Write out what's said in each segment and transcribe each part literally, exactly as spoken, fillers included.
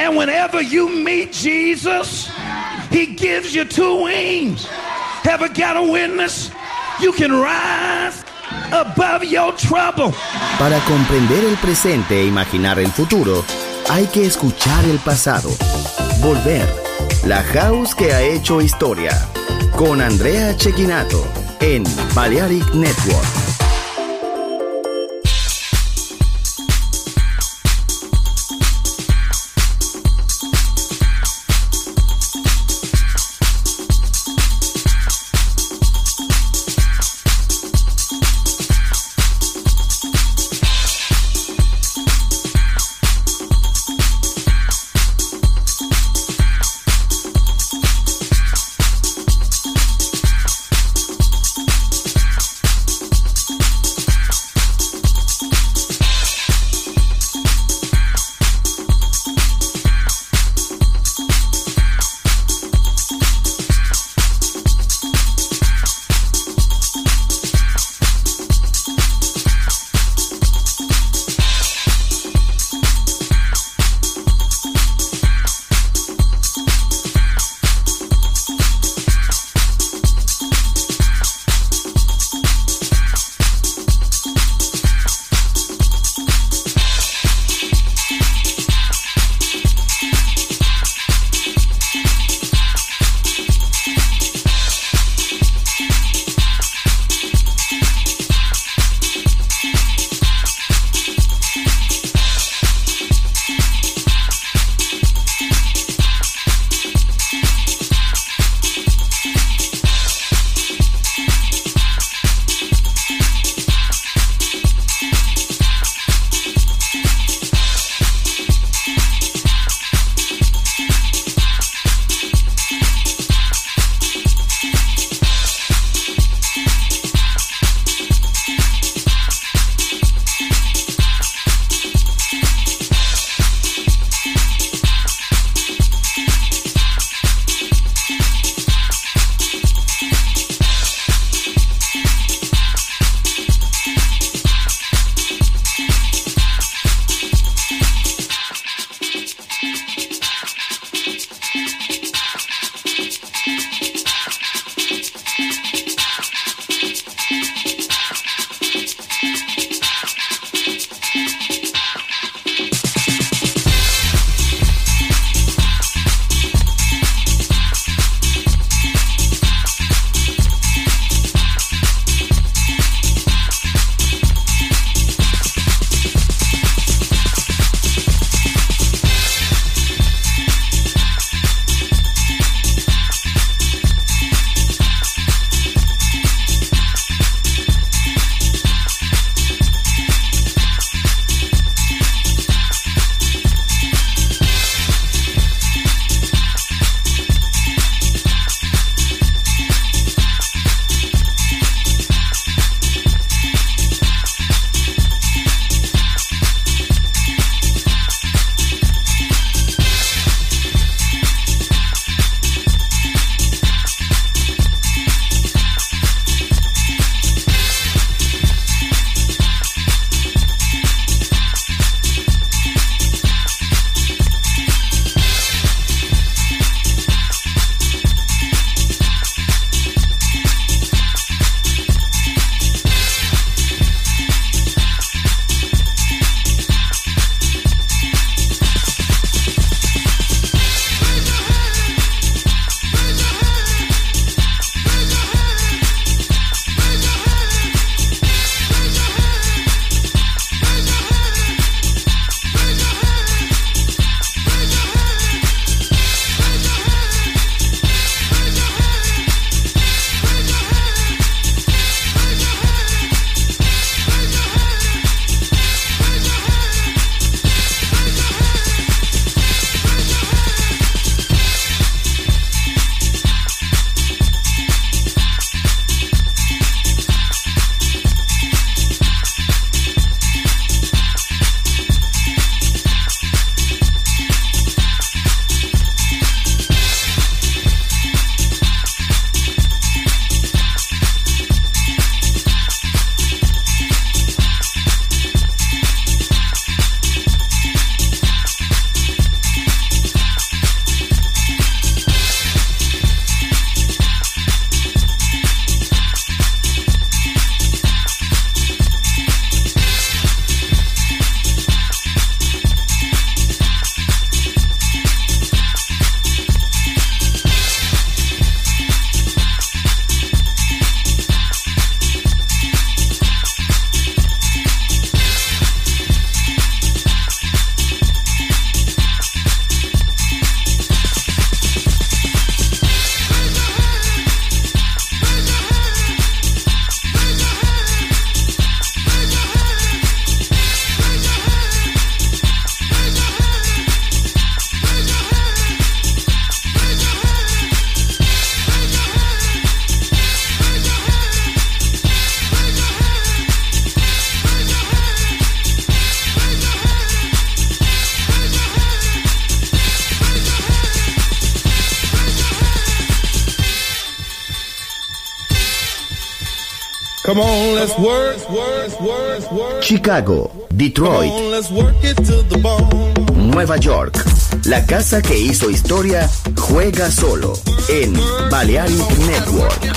And whenever you meet Jesus, he gives you two wings. Ever got a witness? You can rise above your trouble. Para comprender el presente e imaginar el futuro, hay que escuchar el pasado. Volver. La House que ha hecho historia. Con Andrea Cecchinato en Balearic Network. Come on, let's work, work, work, work. Chicago, Detroit, Come on, let's work it to the bone. Nueva York. La casa que hizo historia juega solo en Balearic Network.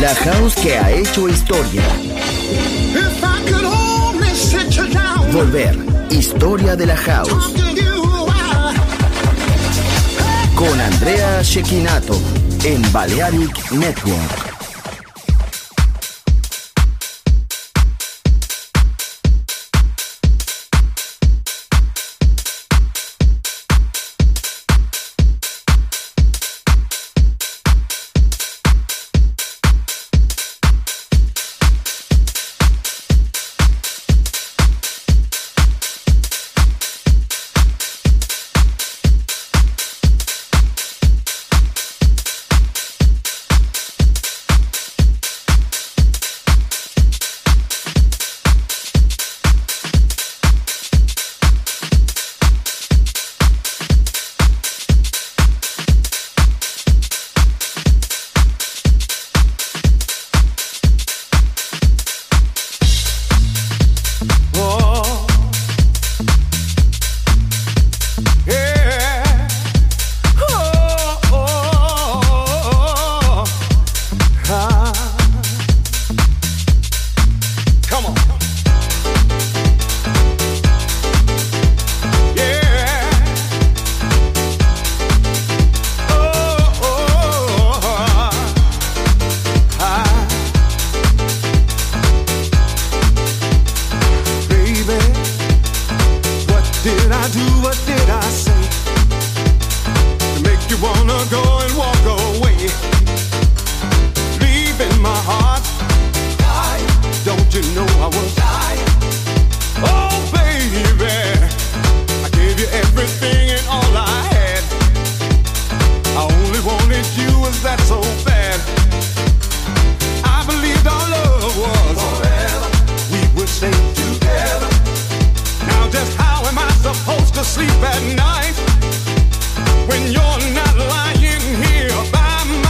La house que ha hecho historia. Volver, historia de la house. Con Andrea Cecchinato en Balearic Network.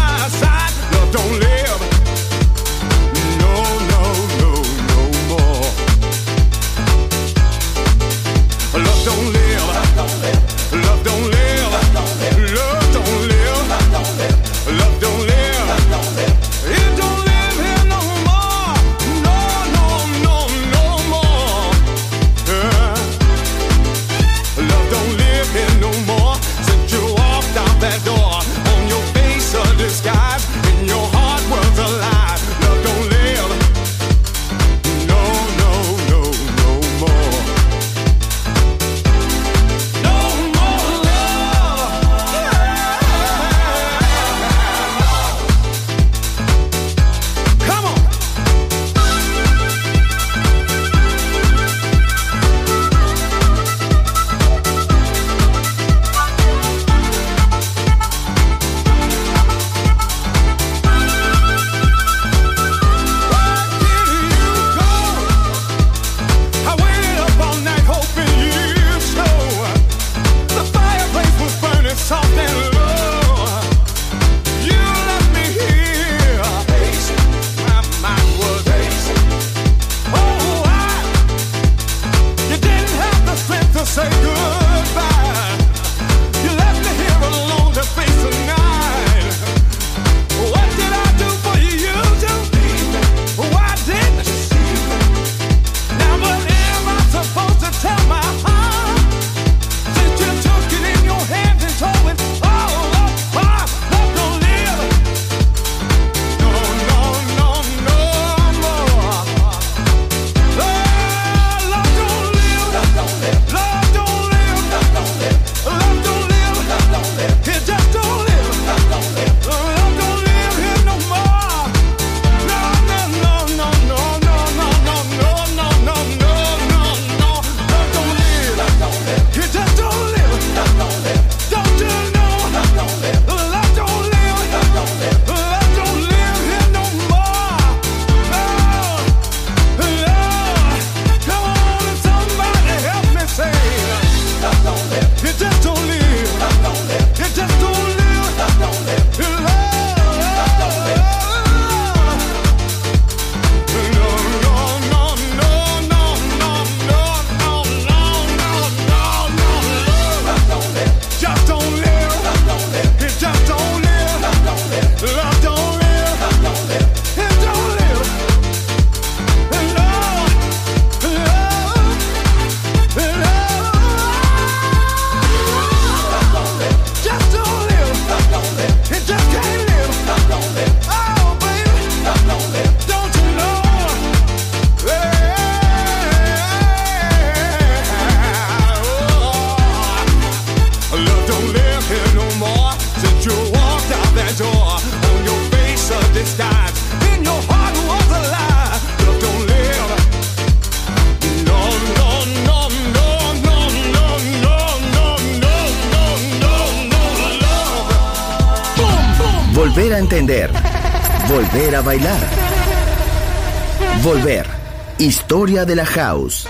Don't live. No, no, no, no more. a entender. Volver a bailar. Volver. Historia de la House.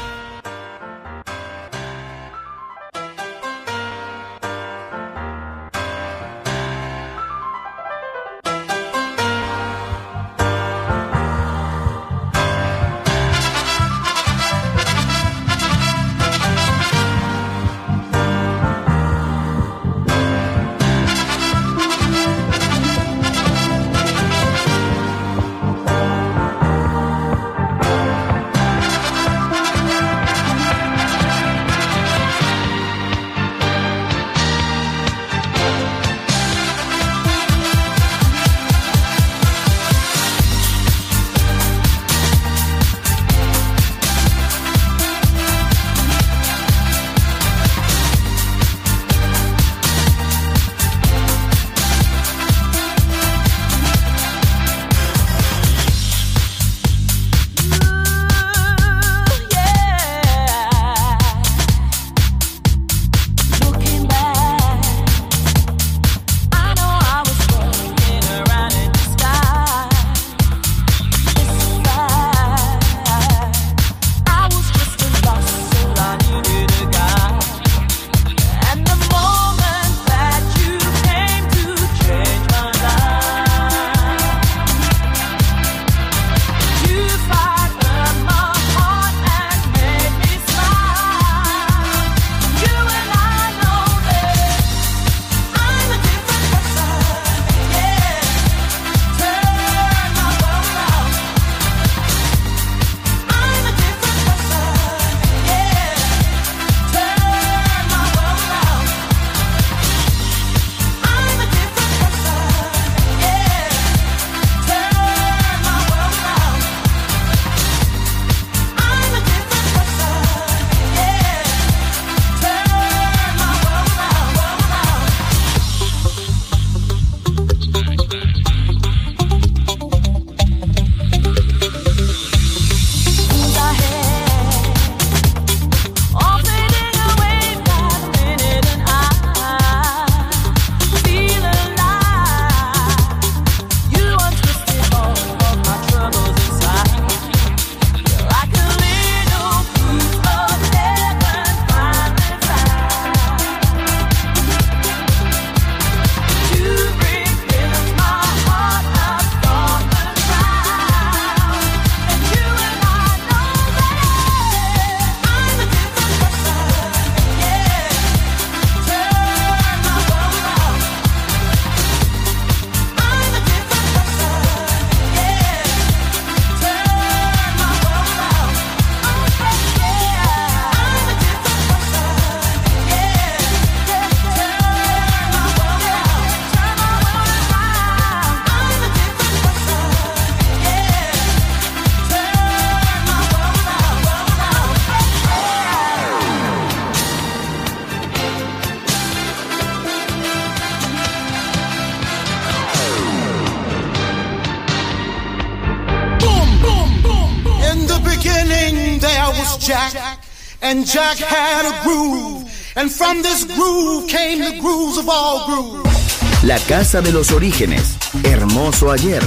Jack, and Jack had a groove, and from this groove came the grooves of all grooves. La casa de los orígenes, hermoso ayer,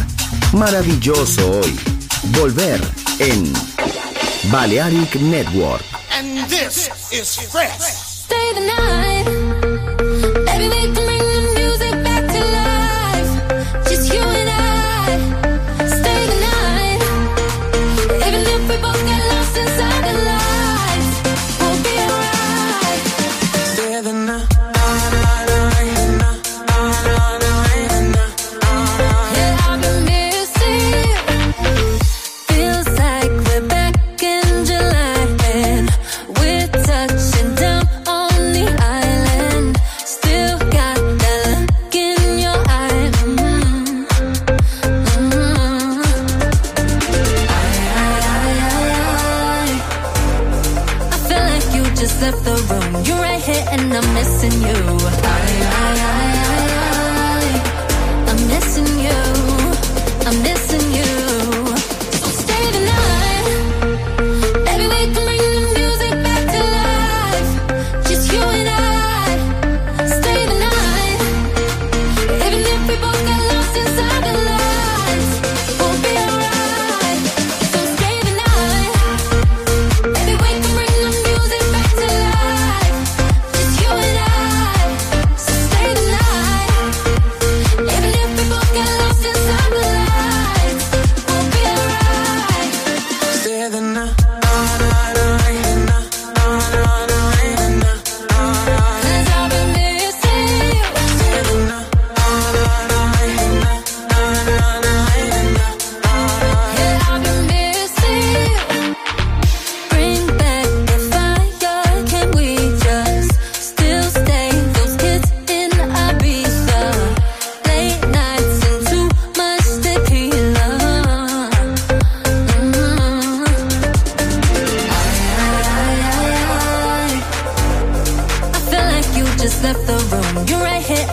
maravilloso hoy. Volver en Balearic Network. And this is fresh. Stay the night. Baby, we can bring the music back to life. Just you and I. Stay the night. Even if we both get lost inside the lights, we'll be alright. Stay the night. I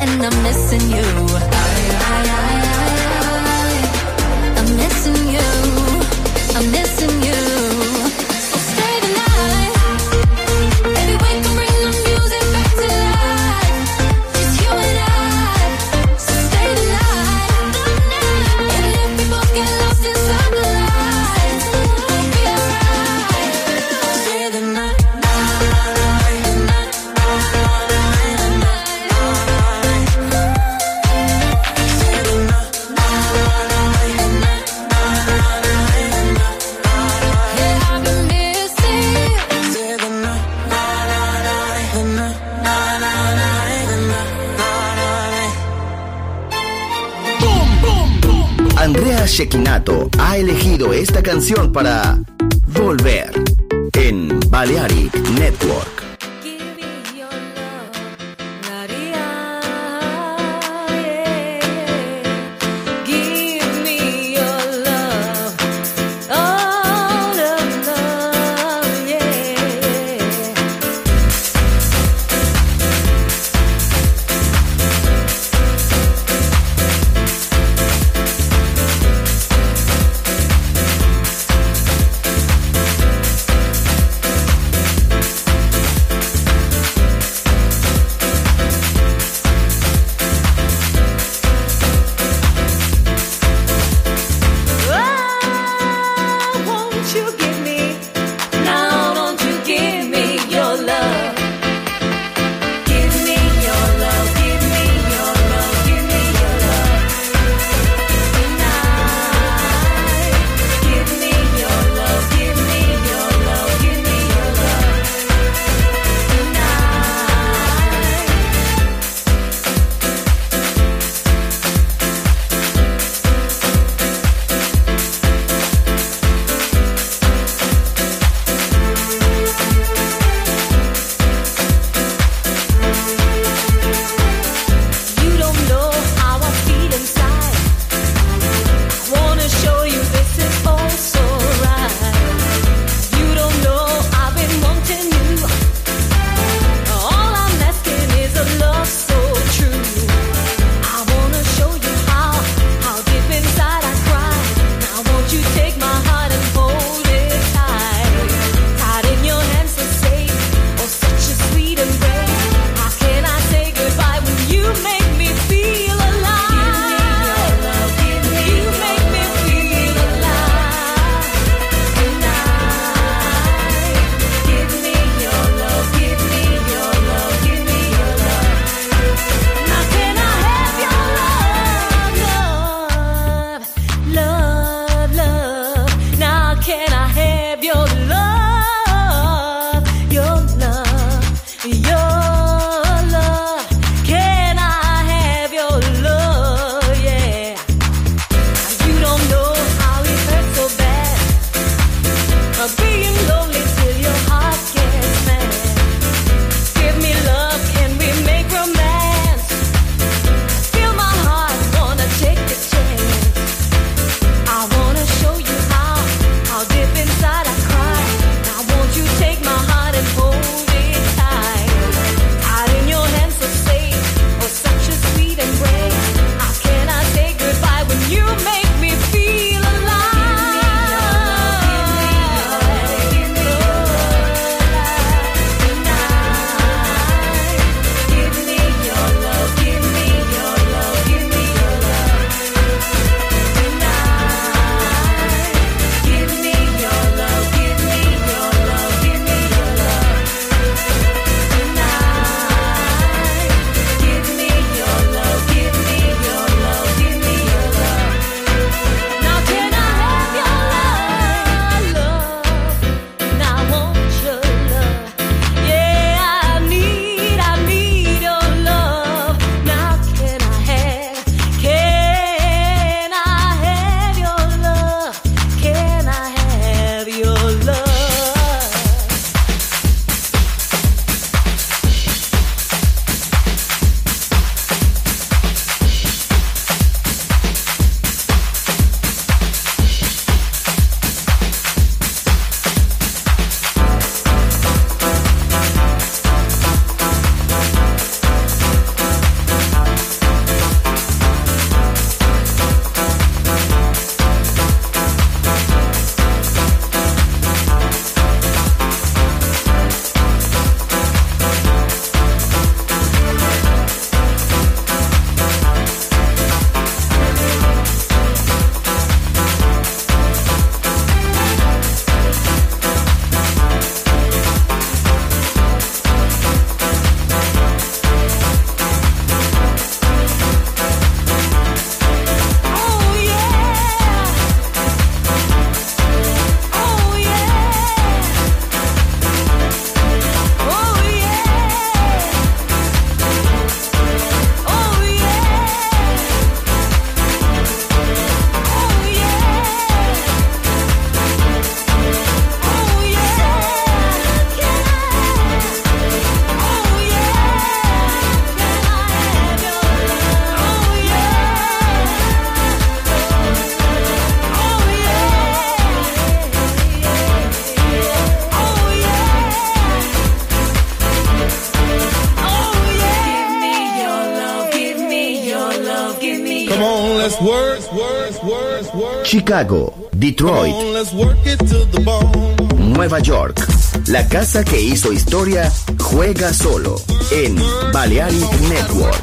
and I'm missing you. I, I, I, I, I'm missing you. I'm missing you. So stay the night. Baby, wake up, bring the music back to life. Just you and I. So stay the night. Even if we both get lost inside the lights, we'll be alright. Stay the night. Andrea Cecchinato ha elegido esta canción para Volver en Balearic Network. work, work, work, work. Chicago, Come Detroit, on, let's work it to the bone. Nueva York. La casa que hizo historia juega solo en Balearic Network.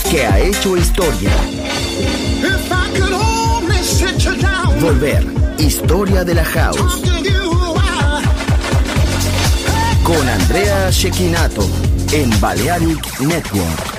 que ha hecho historia. If I could only sit you down, Volver, historia de la house. talk to you while Con Andrea Cecchinato en Balearic Network.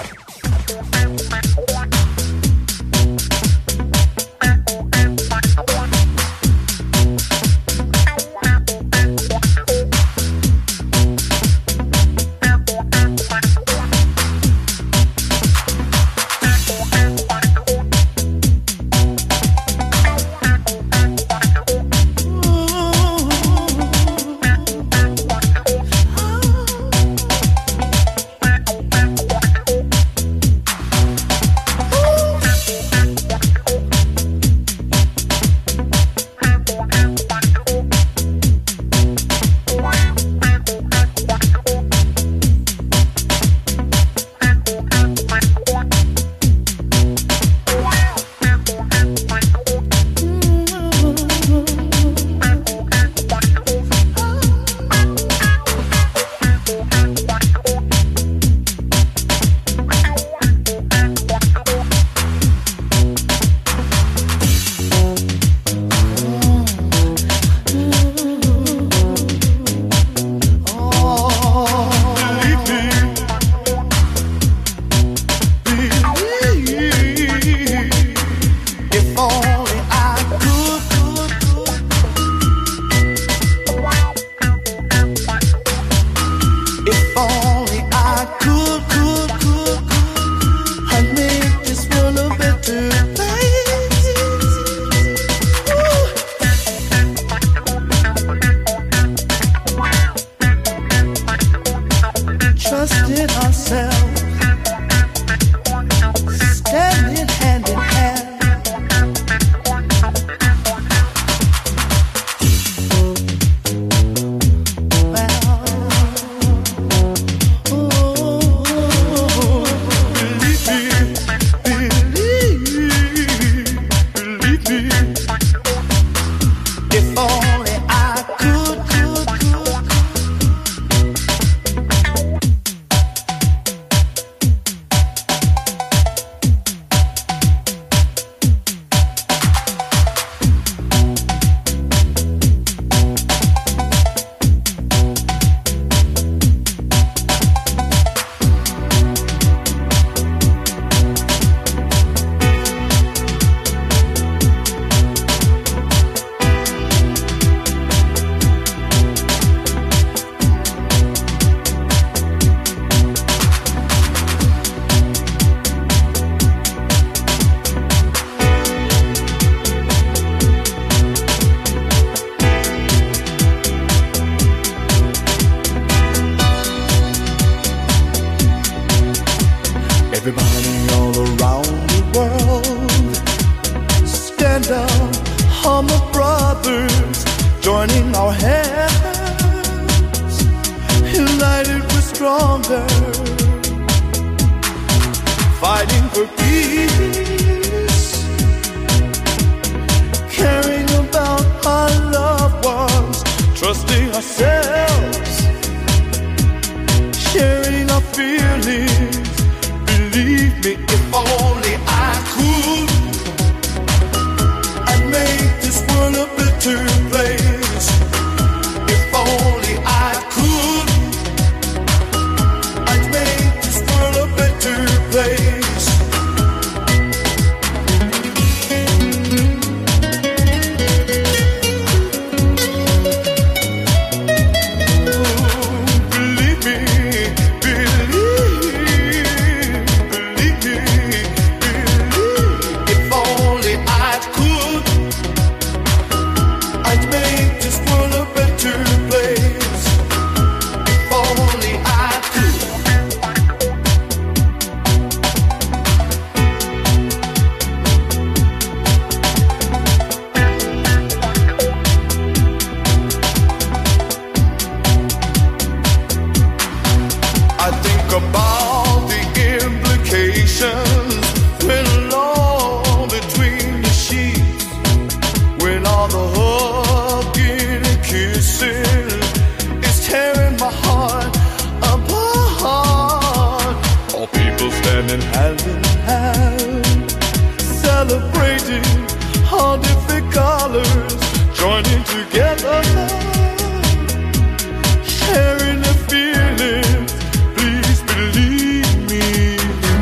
Everybody all around the world, stand up, humble brothers, joining our hands, united we're stronger, fighting for peace, caring about our loved ones, trusting ourselves, sharing our feelings. Believe me, if only I could, I'd make this world a better place. If only I could, I'd make this world a better place. Believe me, painting all different colors, joining together, sharing the feelings. Please believe me.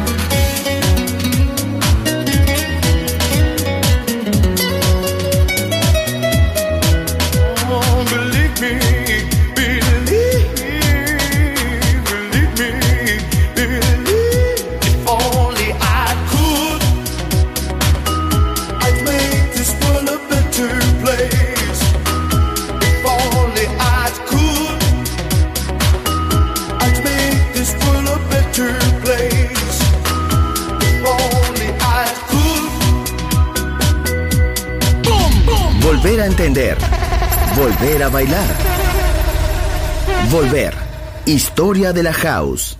Oh, believe me, believe, believe me, believe. If only I could, I'd make this world a better place. If only I could, I'd make this world a better place. If only I could. Boom, boom. Volver a entender. Volver a bailar. Volver. Historia de la house.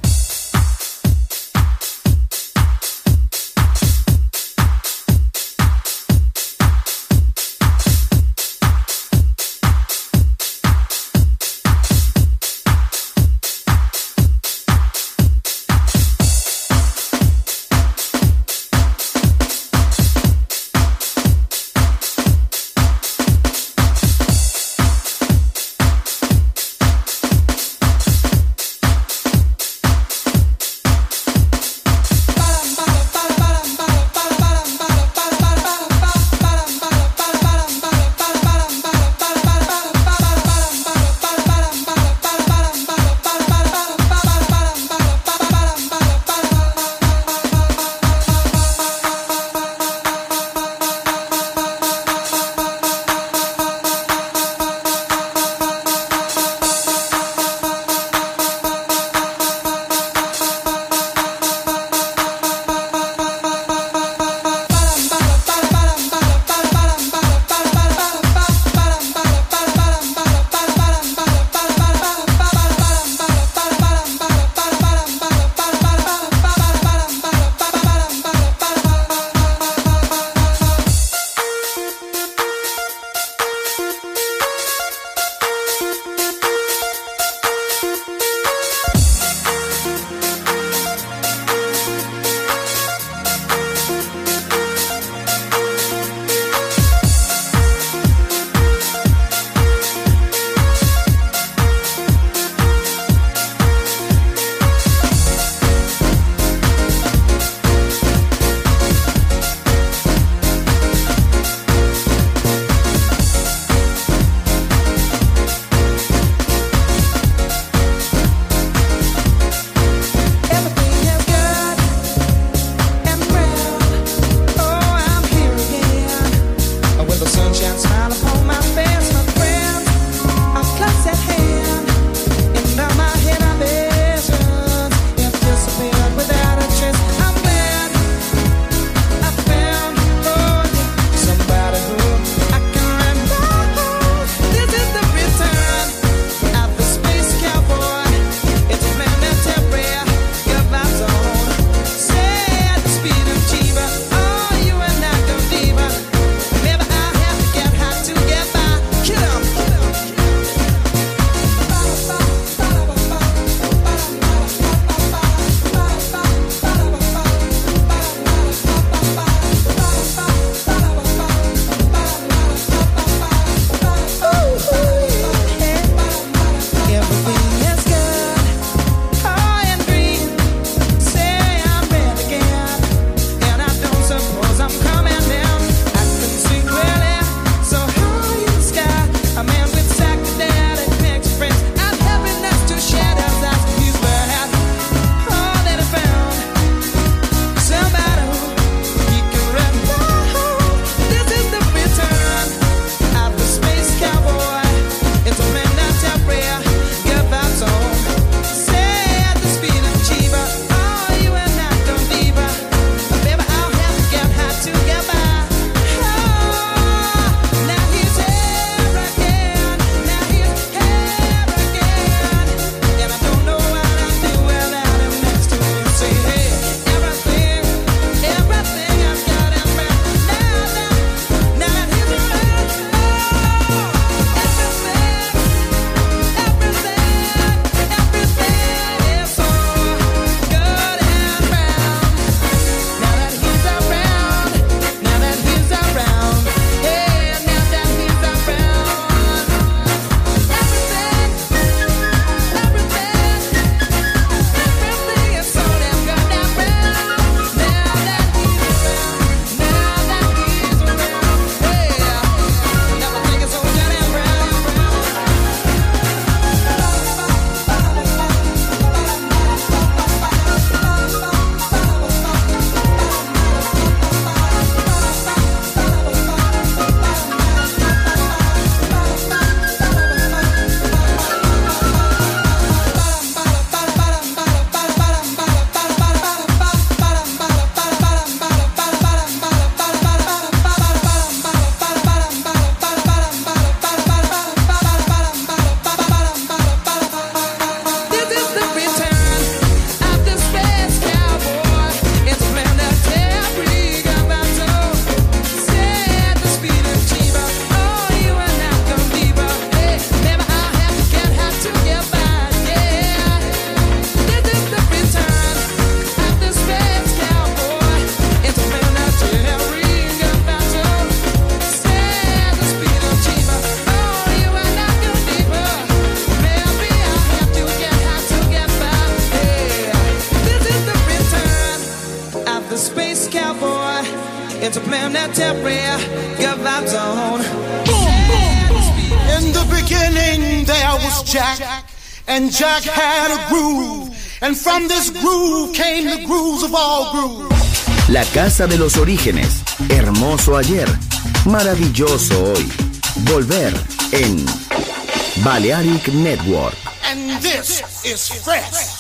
temporary, good vibes on. In the beginning there was Jack, and Jack had a groove, and from this groove came the grooves of all grooves. La casa de los orígenes, hermoso ayer, maravilloso hoy. Volver en Balearic Network. And this is fresh.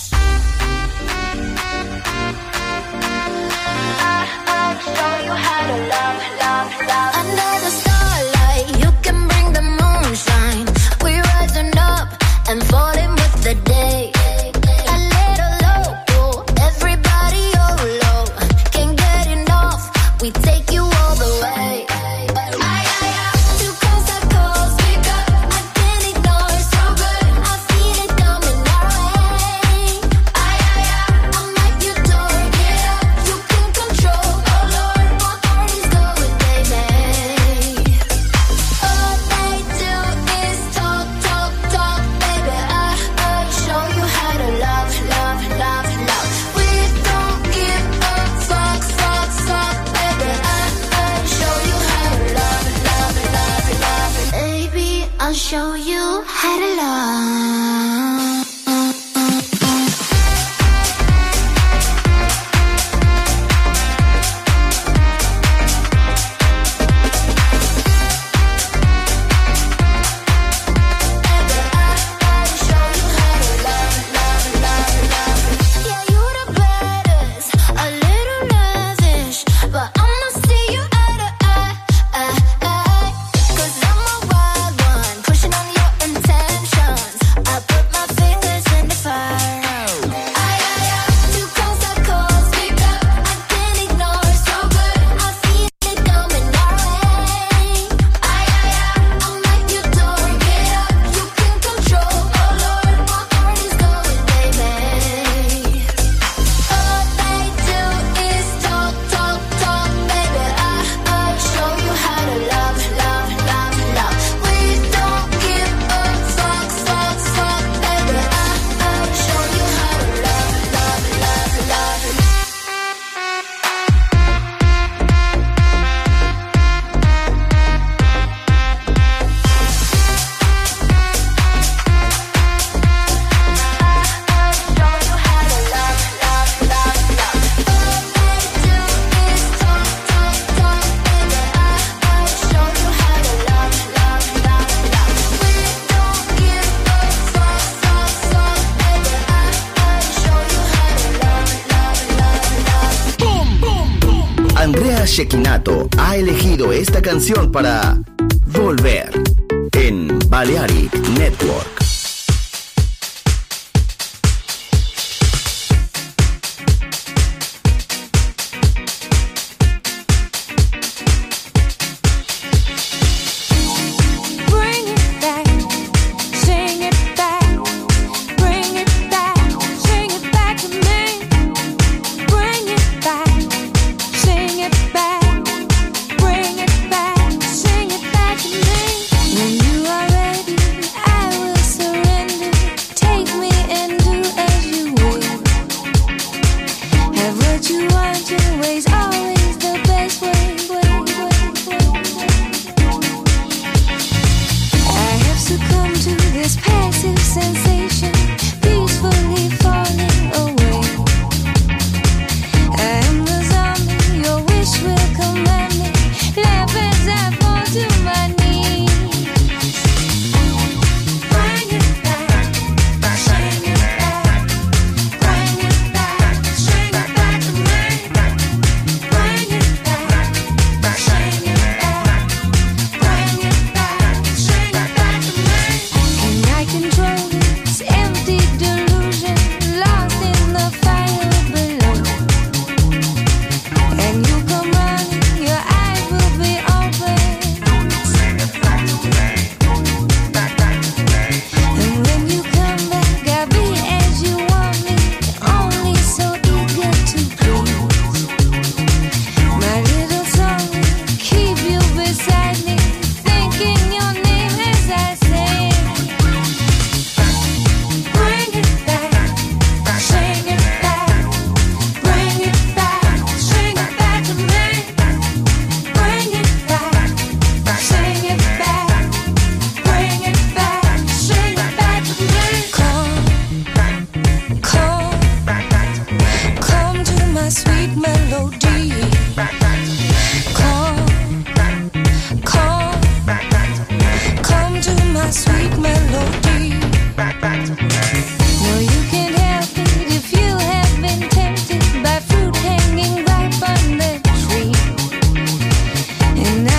Under the starlight, you can bring the moonshine. We're rising up and falling with the day. A little low, everybody oh low. Can't get enough, we take you all the way. Two calls I call, speak up, I can't ignore. So good, I feel it coming our way. I'm like your door, get up, you can control. Oh Lord, my heart is going baby. All they do is talk, talk, talk, baby. I, I show you how to love, love, love, love. We don't give a fuck, fuck, fuck, baby. I, I show you how to love, love, love, love. Baby, I'll show you how to love. Yeah, you the baddest, a little lavish, but I'ma see you eye to eye, eye, eye. 'Cause I'm a wild one, pushing on your intentions. I put my fingers in the fire. Aye, aye, aye. Two calls I call, speak up, I can't ignore. So good, I feel it coming our way. Aye, aye, aye. I'm like your door, get up, you can control. Oh Lord, my heart is going, baby. All they do is talk, talk, talk, baby. I, I show you how to love, love, love, love. We don't give a fuck, fuck, fuck, baby. I, I show you how to love, love, love, love. Andrea Cecchinato ha elegido esta canción para Volver en Balearic Network. Bring it back, sing it back, bring it back, sing it back to me. Bring it back, sing it back, bring it back, sing it back to me. When you are ready, I will surrender. Take me and do as you will. Have what you want, your way's always the best way. I have succumbed to this passive sensation, peacefully falling away. I am the zombie, your wish will command me. Laugh as I fall to my knees. Bring it back, sing it back, bring it back, sing it back to me. Bring it back, sing it back, bring it back, sing it back to me. Can I control this empty delusion, lost in the fire below? And you come running, your eyes will be open.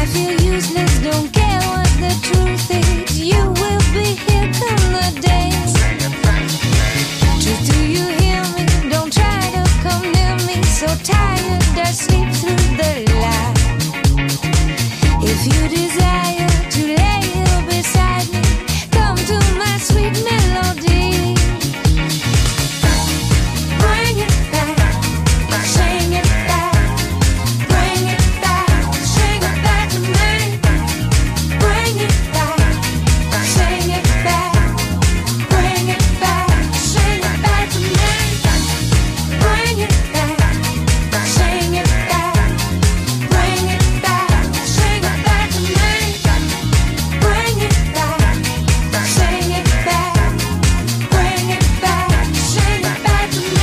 feel useless, don't care what the truth is. You will be here come the day. Truth, do you hear me? Don't try to come near me. So tired, I sleep through the light. If you desire to lay here beside me, come to my sweet melody. Bring it back, sing it back, bring it back, sing it back to me. Bring it back, sing it back, bring it back, sing it back to me. Bring it back, sing it back, bring it back, sing it back to me. Bring it back, sing it back, bring it back, sing it back to me.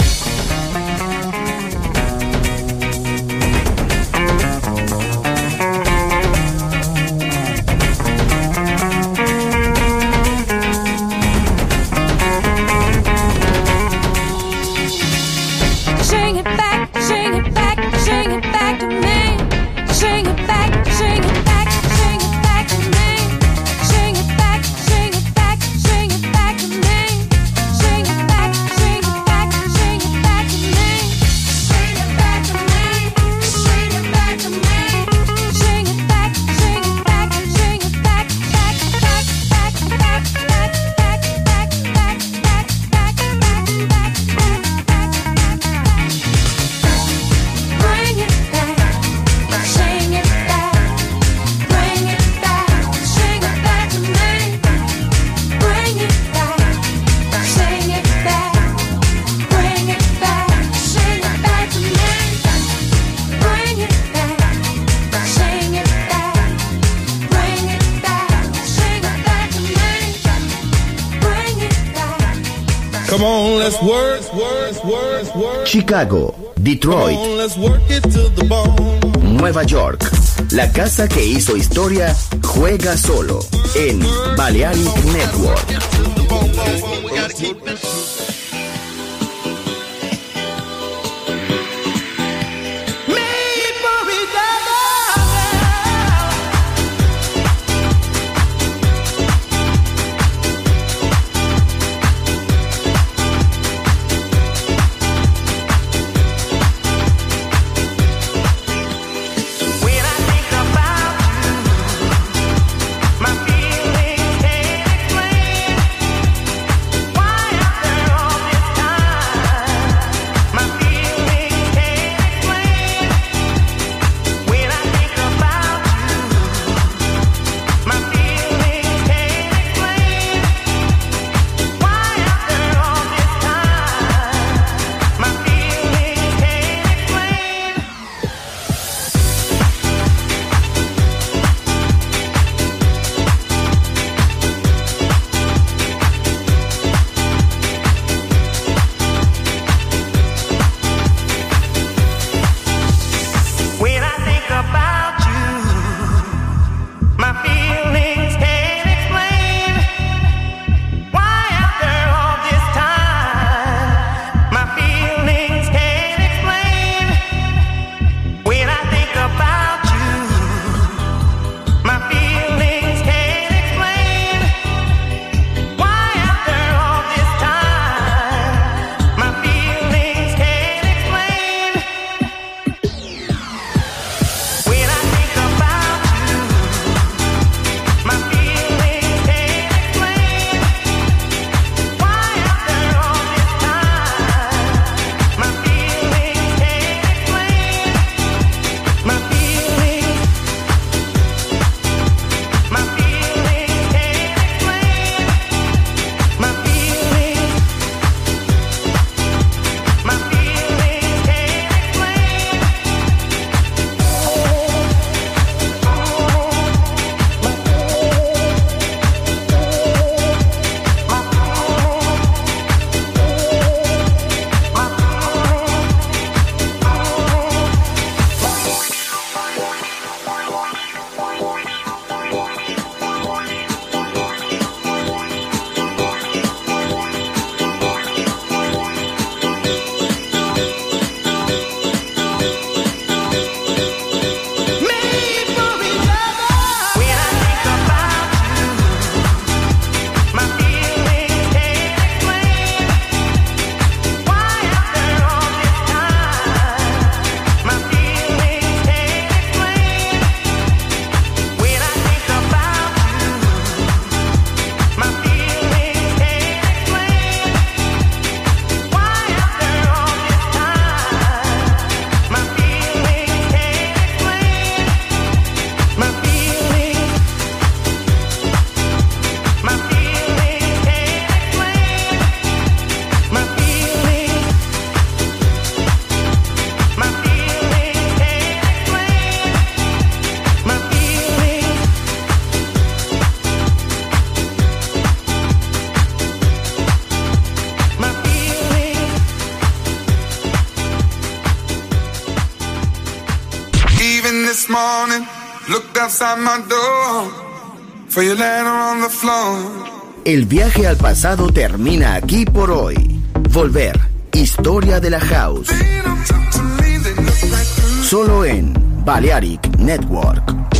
Sing it back, sing it back, sing it back to me. Sing it back, sing it back, sing it back to me. Sing it back, sing it back, sing it back to me. Sing it back, sing it back, sing it back to me. Sing it back to me, sing it back to me. Sing it back, sing it back, sing it back, back, back, back, back, back, back, back, back, back, back, back, back, back. Bring it back, sing it back, bring it back, sing it back to me. Bring it back, sing it back, bring it back, sing it back to me. Bring it back, sing it back, bring it back, sing it back to me. Bring it back. Come on, let's work, work, work, work. Chicago, Come Detroit, on, let's work it to the bone. Nueva York. La casa que hizo historia juega solo en Balearic Network. When I think about you, my feelings can't explain why after all this morning, looked outside my door for your letter on the floor. El viaje al pasado termina aquí por hoy. Volver, historia de la house. Solo en Balearic Network.